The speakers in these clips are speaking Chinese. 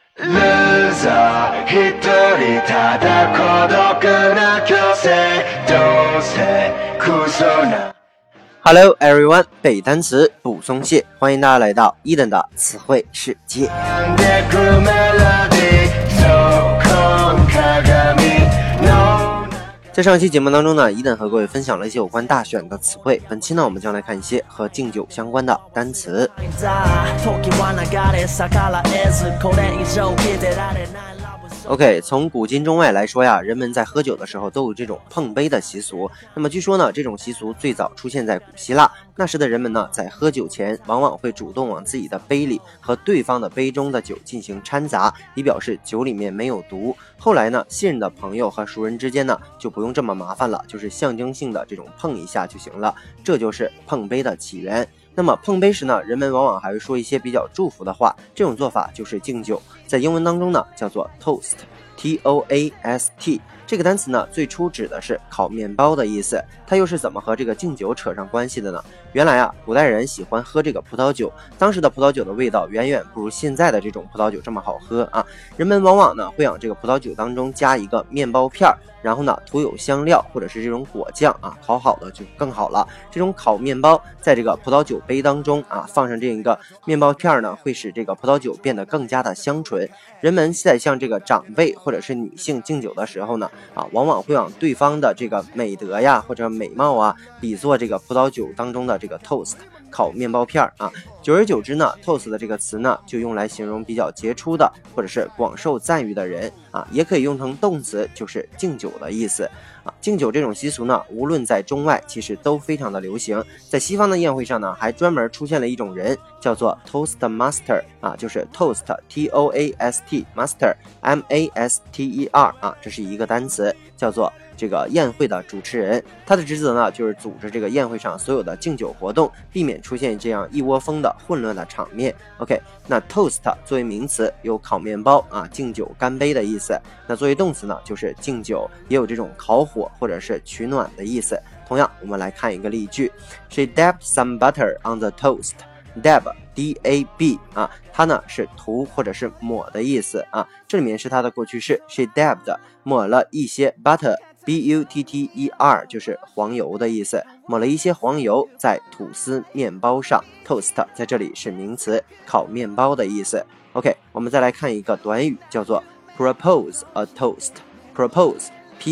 Loser 一人ただ孤独な虚勢どうせクソな。 Hello everyone， 背单词不松懈，欢迎大家来到伊登的词汇世界。在上一期节目当中呢，伊登和各位分享了一些有关大选的词汇。本期呢，我们将来看一些和敬酒相关的单词。OK， 从古今中外来说呀，人们在喝酒的时候都有这种碰杯的习俗。那么据说呢，这种习俗最早出现在古希腊。那时的人们呢，在喝酒前往往会主动往自己的杯里和对方的杯中的酒进行掺杂，以表示酒里面没有毒。后来呢，信任的朋友和熟人之间呢，就不用这么麻烦了，就是象征性的这种碰一下就行了。这就是碰杯的起源。那么碰杯时呢，人们往往还会说一些比较祝福的话，这种做法就是敬酒，在英文当中呢叫做 toast， T-O-A-S-T。 这个单词呢最初指的是烤面包的意思，它又是怎么和这个敬酒扯上关系的呢？原来啊，古代人喜欢喝这个葡萄酒，当时的葡萄酒的味道远远不如现在的这种葡萄酒这么好喝啊。人们往往呢会往这个葡萄酒当中加一个面包片，然后呢涂有香料或者是这种果酱啊，烤好了就更好了。这种烤面包在这个葡萄酒杯当中啊，放上这一个面包片呢，会使这个葡萄酒变得更加的香醇。人们在向这个长辈或者是女性敬酒的时候呢，往往会往对方的这个美德呀或者美貌啊，比作这个葡萄酒当中的这个 toast 烤面包片啊。久而久之呢 toast 的这个词呢就用来形容比较杰出的或者是广受赞誉的人啊，也可以用成动词，就是敬酒的意思啊。敬酒这种习俗呢，无论在中外其实都非常的流行。在西方的宴会上呢，还专门出现了一种人叫做 toast master 啊，就是 toast T-O-A-S-T master M-A-S-T-E-R 啊，这是一个单词，叫做这个宴会的主持人。他的职责呢就是组织这个宴会上所有的敬酒活动，避免出现这样一窝蜂的混乱的场面。 OK， 那 toast 作为名词有烤面包啊、敬酒干杯的意思，那作为动词呢就是敬酒，也有这种烤火或者是取暖的意思。同样我们来看一个例句， She dabbed some butter on the toast。 dab D-A-B 啊，它呢是涂或者是抹的意思啊，这里面是它的过去式， She dabbed 抹了一些 butter B-U-T-T-E-R 就是黄油的意思，抹了一些黄油在吐司面包上。 toast 在这里是名词，烤面包的意思。 OK， 我们再来看一个短语，叫做 propose a toast。 propose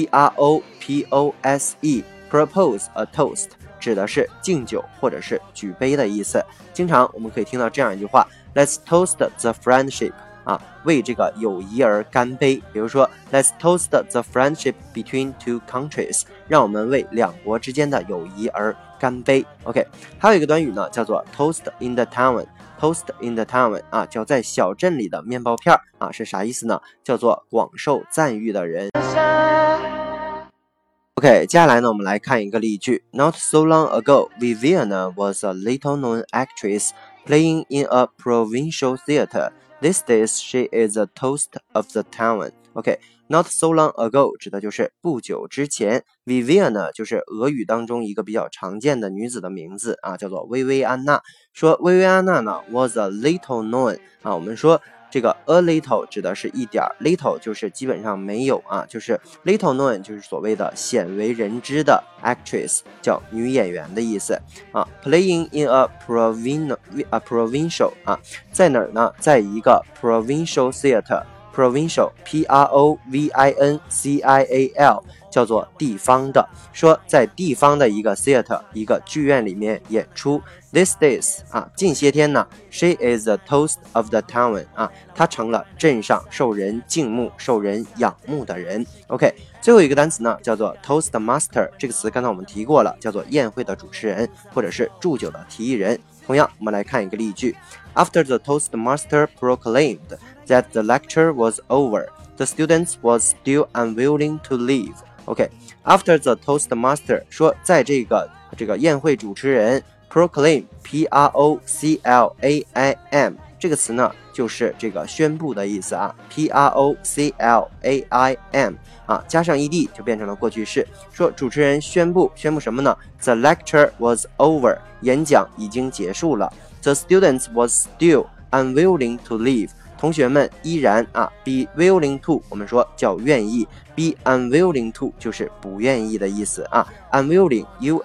P-R-O-P-O-S-E propose a toast 指的是敬酒或者是举杯的意思。经常我们可以听到这样一句话， Let's toast the friendship啊，为这个友谊而干杯。比如说 Let's toast the friendship between two countries， 让我们为两国之间的友谊而干杯。 OK， 还有一个短语呢叫做 toast in the town。 toast in the town 啊，叫在小镇里的面包片啊，是啥意思呢？叫做广受赞誉的人。OK， 接下来呢，我们来看一个例句。 Not so long ago, Viviana was a little-known actress playing in a provincial theater. These days, she is a toast of the town. OK，Not so long ago 指的就是不久之前。Viviana 就是俄语当中一个比较常见的女子的名字啊，叫做薇薇安娜。说薇薇安娜呢 was a little known 啊，我们说这个 a little 指的是一点 little 就是基本上没有啊，就是 little known 就是所谓的鲜为人知的 actress， 叫女演员的意思啊。Playing in a provincial 啊，在哪儿呢？在一个 provincial theater。provincial P-R-O-V-I-N-C-I-A-L 叫做地方的，说在地方的一个 theater 一个剧院里面演出。 These days 啊，近些天呢 She is the toast of the town 啊，她成了镇上受人敬慕受人仰慕的人。 OK， 最后一个单词呢叫做 toast master， 这个词刚才我们提过了，叫做宴会的主持人或者是祝酒的提议人。同样我们来看一个例句， After the toast master proclaimed that the lecture was over, the students was still unwilling to leave. OK, after the toast master 说在这个宴会主持人 proclaim P-R-O-C-L-A-I-M 这个词呢就是这个宣布的意思啊 P-R-O-C-L-A-I-M 啊，加上 ed 就变成了过去式，说主持人宣布什么呢？ The lecture was over 演讲已经结束了， The students was still unwilling to leave 同学们依然be willing to 我们说叫愿意， be unwilling to 就是不愿意的意思unwilling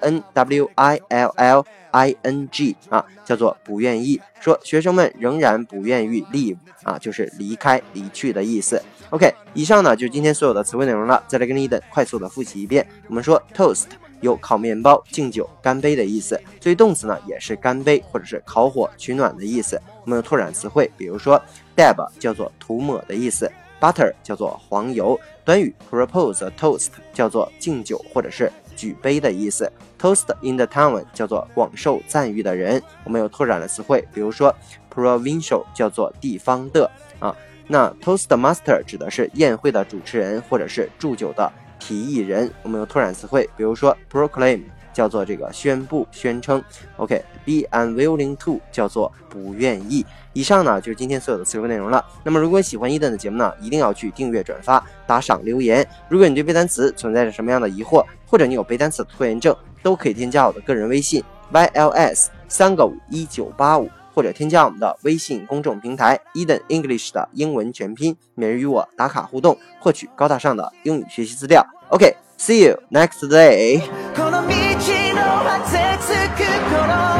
unwilling 叫做不愿意，说学生们仍然不愿意 leave 就是离开离去的意思。OK， 以上呢就是今天所有的词汇内容了，再来跟Eden快速的复习一遍。我们说 toast 有烤面包、敬酒、干杯的意思，所以动词呢也是干杯或者是烤火取暖的意思。我们有拓展词汇，比如说 dab 叫做涂抹的意思， butter 叫做黄油，短语 propose a toast 叫做敬酒或者是举杯的意思， toast in the town 叫做广受赞誉的人。我们有拓展的词汇，比如说 provincial 叫做地方的那 Toastmaster 指的是宴会的主持人或者是祝酒的提议人。我们有拓展词汇，比如说 proclaim 叫做这个宣布宣称。 OK，be unwilling to 叫做不愿意。以上呢就是今天所有的词汇内容了。那么如果你喜欢Eden的节目呢，一定要去订阅、转发、打赏、留言。如果你对背单词存在着什么样的疑惑，或者你有背单词的拖延症，都可以添加我的个人微信 YLS3551985，或者添加我们的微信公众平台 Eden English 的英文全拼，每日与我打卡互动，获取高大上的英语学习资料。OK，see you next day。